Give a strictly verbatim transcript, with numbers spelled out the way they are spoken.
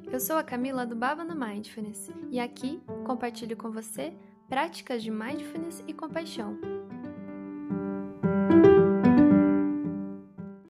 Eu sou a Camila do Baba no Mindfulness e aqui compartilho com você práticas de mindfulness e compaixão